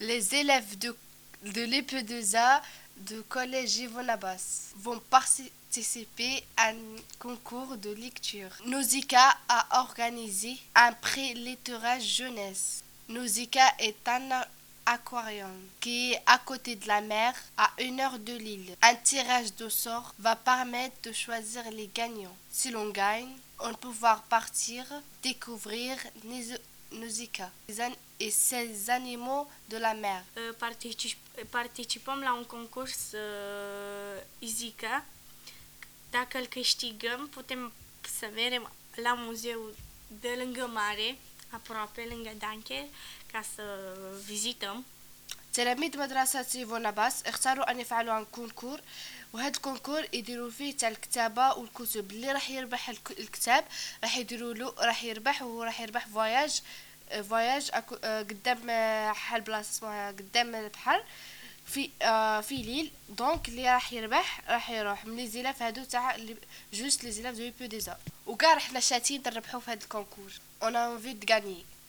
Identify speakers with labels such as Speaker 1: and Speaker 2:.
Speaker 1: Les élèves de l'EPE2A de collège Yvonne Abbas vont participer à un concours de lecture. Nausicaa a organisé un pré-lettrage jeunesse. Nausicaa est un aquarium qui est à côté de la mer à 1 heure de l'île. Un tirage de sort va permettre de choisir les gagnants. Si l'on gagne, on va pouvoir partir découvrir Nausicaa et ses animaux de la mer.
Speaker 2: Participăm la un concurs Izica. Dacă îl câștigăm, putem să mergem la muzeul de lângă mare, aproape lângă Danke, ca să vizităm.
Speaker 1: تلاميذ مدرسة يفون باس اختاروا أن يفعلوا عن كونكور، وهذا الكونكور يديروا فيه تاع الكتابة والكتب. اللي راح يربح الكتاب راح يديروا له، راح يربح، وهو راح يربح فواياج قدام حل بلاصة اسمها قدام البحر في ليل. دونك اللي راح يربح راح يروح من لي زيلاف هادو تاع جوست لي زيلاف دو بو ديزا، وكاع رحنا شاتين نربحوا في هذا الكونكور. اون انفي دو غاني.